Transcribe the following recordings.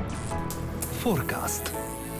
Forecast.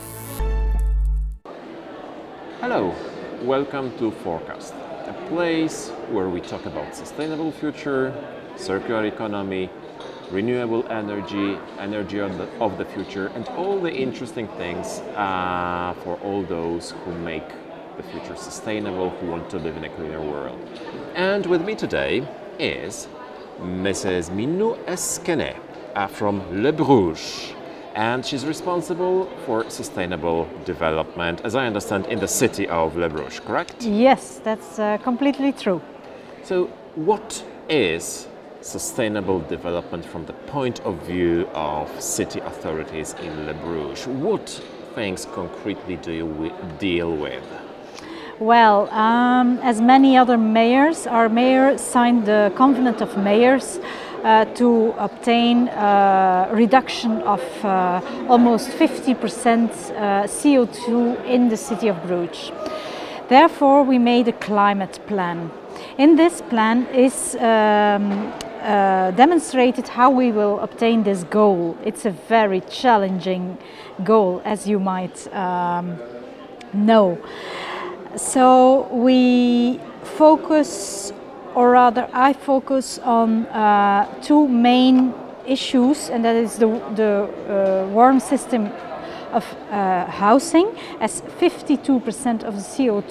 Hello, welcome to Forecast, a place where we talk about sustainable future, circular economy, renewable energy, energy of the future, and all the interesting things for all those who make the future sustainable, who want to live in a cleaner world. And with me today is Mrs. Minou Esquenet from Le Bruges, and she's responsible for sustainable development, as I understand, in the city of Le Bruges, correct? Yes, that's completely true. So what is sustainable development from the point of view of city authorities in Le Bruges? What things concretely do you deal with? Well, as many other mayors, our mayor signed the Covenant of Mayors to obtain reduction of almost 50% CO2 in the city of Bruges. Therefore, we made a climate plan. In this plan is demonstrated how we will obtain this goal. It's a very challenging goal, as you might know. So we focus, or rather I focus on two main issues, and that is the warm system of housing, as 52% of the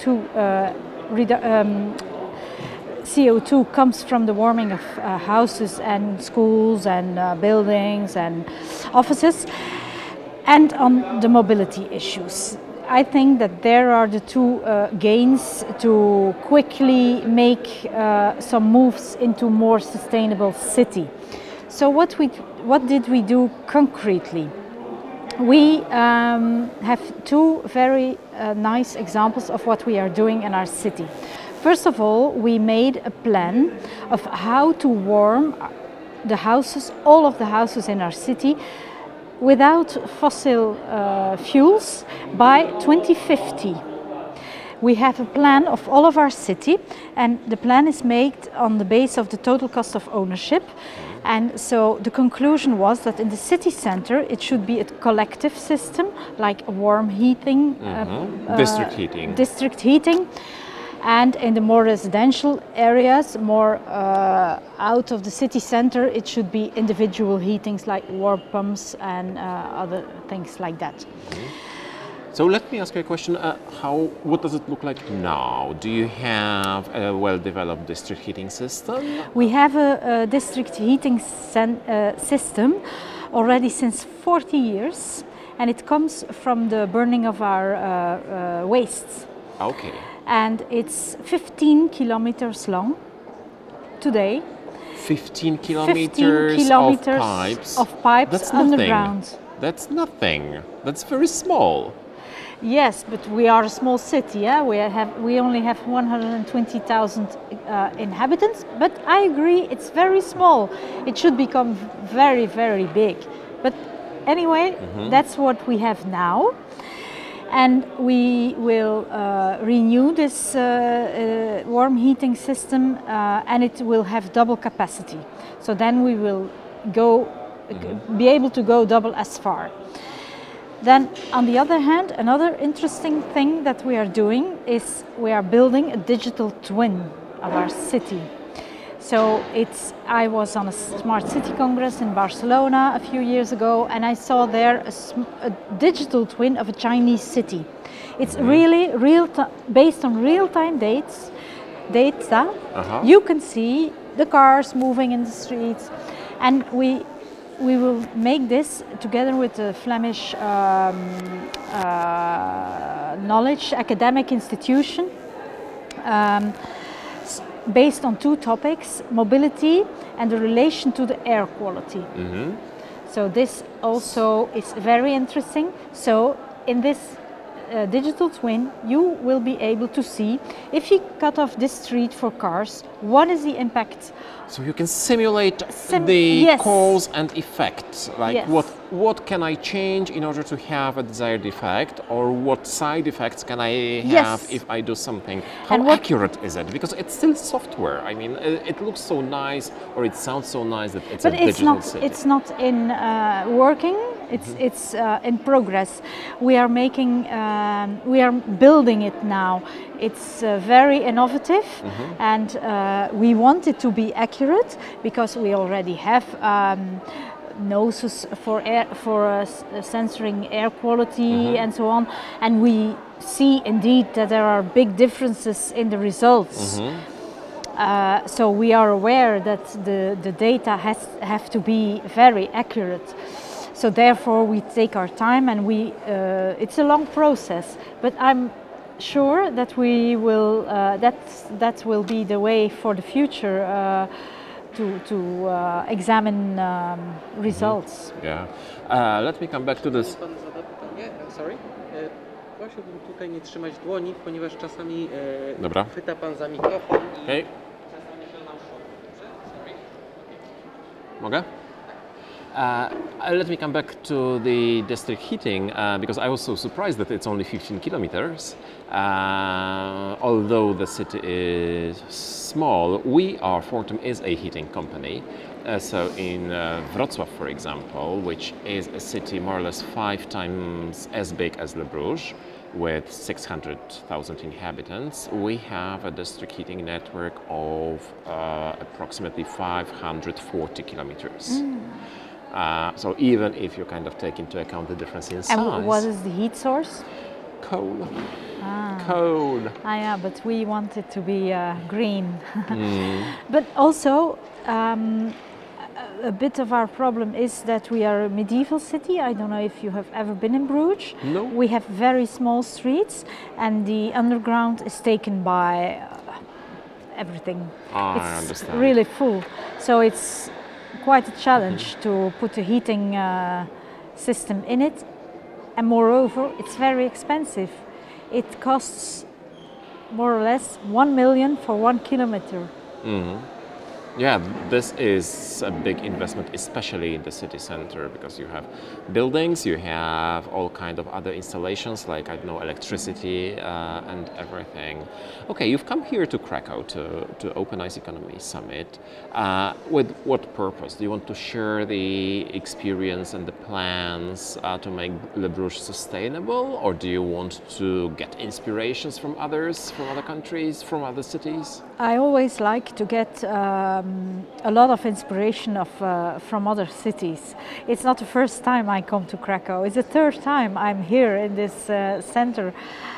CO2 comes from the warming of houses and schools and buildings and offices, and on the mobility issues. I think that there are the two gains to quickly make some moves into more sustainable city. So what did we do concretely? We have two very nice examples of what we are doing in our city. First of all, we made a plan of how to warm the houses, all of the houses in our city, without fossil fuels by 2050. We have a plan of all of our city, and the plan is made on the base of the total cost of ownership. And so the conclusion was that in the city center it should be a collective system, like warm heating, district heating. And in the more residential areas, more out of the city center, it should be individual heatings like warm pumps and other things like that. So let me ask you a question. What does it look like now? Do you have a well-developed district heating system? We have a district heating system already since 40 years, and it comes from the burning of our wastes. Okay. And it's 15 kilometers long today. 15 kilometers of pipes That's underground. Nothing. That's nothing. That's very small. Yes, but we are a small city. Yeah? We only have 120,000 inhabitants. But I agree, it's very small. It should become very, very big. But anyway, that's what we have now. And we will renew this warm heating system, and it will have double capacity. So then we will be able to go double as far. Then, on the other hand, another interesting thing that we are doing is we are building a digital twin of our city. So I was on a Smart City Congress in Barcelona a few years ago, and I saw there a digital twin of a Chinese city. It's really based on real-time data. You can see the cars moving in the streets, and we will make this together with the Flemish knowledge academic institution. Based on two topics, mobility and the relation to the air quality. So this also is very interesting. So in this digital twin, you will be able to see, if you cut off this street for cars, what is the impact? So you can simulate the cause and effect. Like what can I change in order to have a desired effect, or what side effects can I have if I do something? How accurate is it? Because it's still software. I mean, it looks so nice, or it sounds so nice that it's a digital city. It's not in working It's in progress. We are making, we are building it now. It's very innovative, and we want it to be accurate because we already have noses for air, for censoring air quality and so on, and we see indeed that there are big differences in the results. So we are aware that the data have to be very accurate. So therefore we take our time, and it's a long process, but I'm sure that we will that will be the way for the future to examine results. Yeah. Let me come back to this. Pan zada pytanie? Sorry. Prosiłbym tutaj nie trzymać dłoni, ponieważ czasami Dobra. chwyta pan za mikrofon i Okay. czasami się nam Mogę? Let me come back to the district heating because I was so surprised that it's only 15 kilometers. Although the city is small, Fortum is a heating company. So in Wrocław, for example, which is a city more or less 5 times as big as Le Bruges, with 600,000 inhabitants, we have a district heating network of approximately 540 kilometers. So even if you kind of take into account the difference in size. And what is the heat source? Coal. Coal. Yeah, but we want it to be green. But also, a bit of our problem is that we are a medieval city. I don't know if you have ever been in Bruges. No. We have very small streets, and the underground is taken by everything. I understand. Really full. So it's quite a challenge to put a heating system in it. And moreover, it's very expensive. It costs more or less 1 million for 1 kilometer. Yeah, this is a big investment, especially in the city center, because you have buildings, you have all kind of other installations like, I don't know, electricity and everything. Okay, you've come here to Krakow to Open Ice Economy Summit. With what purpose? Do you want to share the experience and the plans to make Le Bruges sustainable, or do you want to get inspirations from others, from other countries, from other cities? I always like to get a lot of inspiration from other cities. It's not the first time I come to Krakow. It's the third time I'm here in this center.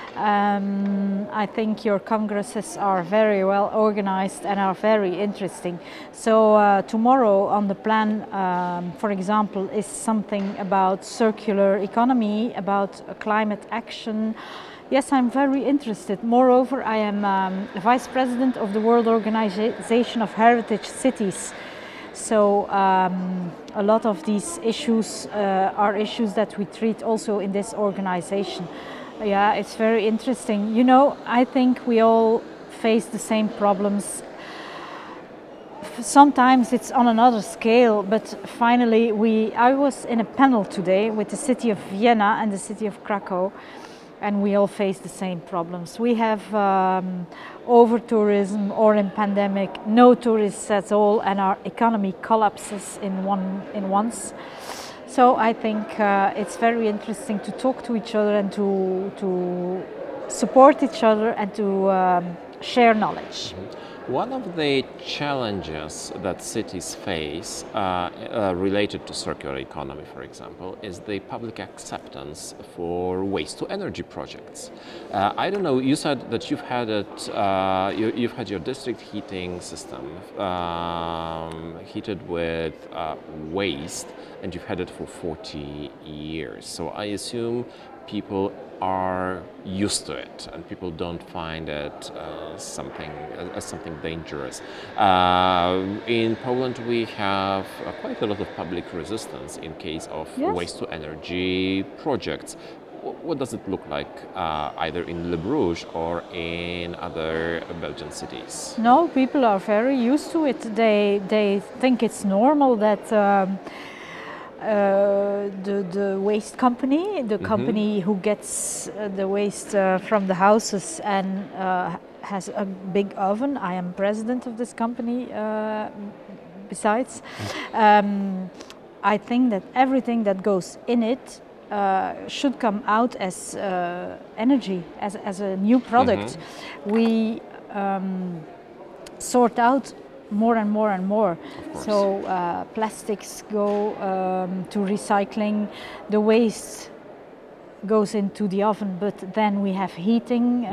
I think your congresses are very well organized and are very interesting. So tomorrow on the plan, for example, is something about circular economy, about climate action. Yes, I'm very interested. Moreover, I am Vice President of the World Organization of Heritage Cities. So a lot of these issues are issues that we treat also in this organization. Yeah, it's very interesting. You know, I think we all face the same problems. Sometimes it's on another scale, but finally I was in a panel today with the city of Vienna and the city of Krakow. And we all face the same problems. We have over-tourism or in pandemic, no tourists at all, and our economy collapses in once. So I think it's very interesting to talk to each other and to support each other and to share knowledge. One of the challenges that cities face related to circular economy, for example, is the public acceptance for waste-to-energy projects. I don't know. You said that you've had it. You've had your district heating system heated with waste, and you've had it for 40 years. So I assume people are used to it, and people don't find it something dangerous. In Poland, we have quite a lot of public resistance in case of waste-to-energy projects. What does it look like either in Le Bruges or in other Belgian cities? No, people are very used to it. They think it's normal that the waste company, the company who gets the waste from the houses and has a big oven. I am president of this company besides. I think that everything that goes in it should come out as energy, as a new product. We sort out more and more and more. So plastics go to recycling, the waste goes into the oven, but then we have heating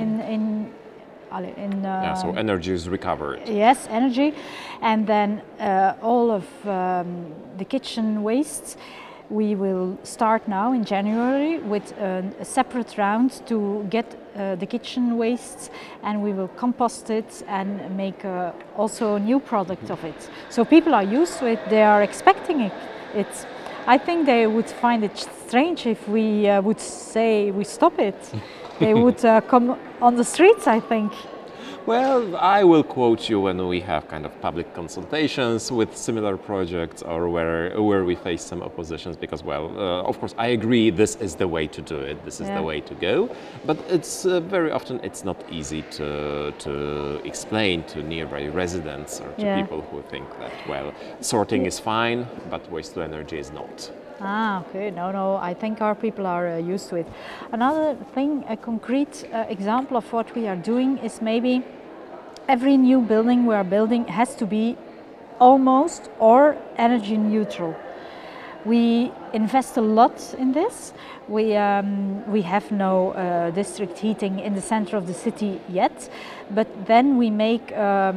So energy is recovered. Yes, energy, and then all of the kitchen wastes. We will start now in January with a separate round to get the kitchen wastes, and we will compost it and make also a new product of it. So people are used to it, they are expecting it. I think they would find it strange if we would say we stop it. They would come on the streets, I think. Well, I will quote you when we have kind of public consultations with similar projects or where we face some oppositions, because, well, of course, I agree this is the way to do it, this is the way to go, but it's very often it's not easy to explain to nearby residents or to people who think that, well, sorting is fine, but waste to energy is not. Okay, no, I think our people are used to it. Another thing, a concrete example of what we are doing is maybe every new building we are building has to be almost or energy neutral. We invest a lot in this. We have no district heating in the center of the city yet, but then we make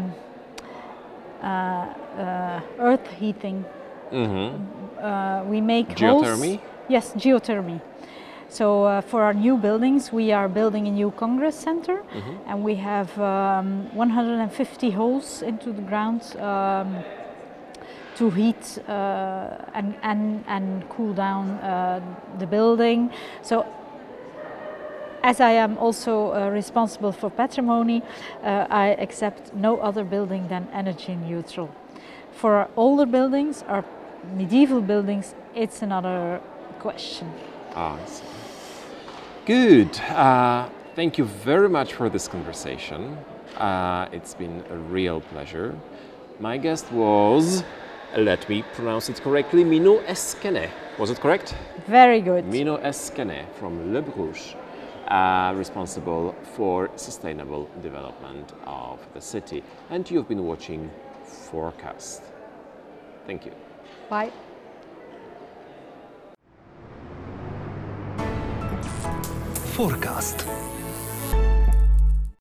earth heating. We make geothermy? Holes. Yes, geothermy. So for our new buildings, we are building a new Congress Center, and we have 150 holes into the ground to heat and cool down the building. So as I am also responsible for patrimony, I accept no other building than energy neutral. For our older buildings, our medieval buildings, it's another question. I see. Good. Thank you very much for this conversation. It's been a real pleasure. My guest was, let me pronounce it correctly, Minou Eskene. Was it correct? Very good. Minou Eskene from Le Bruges, responsible for sustainable development of the city. And you've been watching Forecast. Thank you. Bye. Forecast.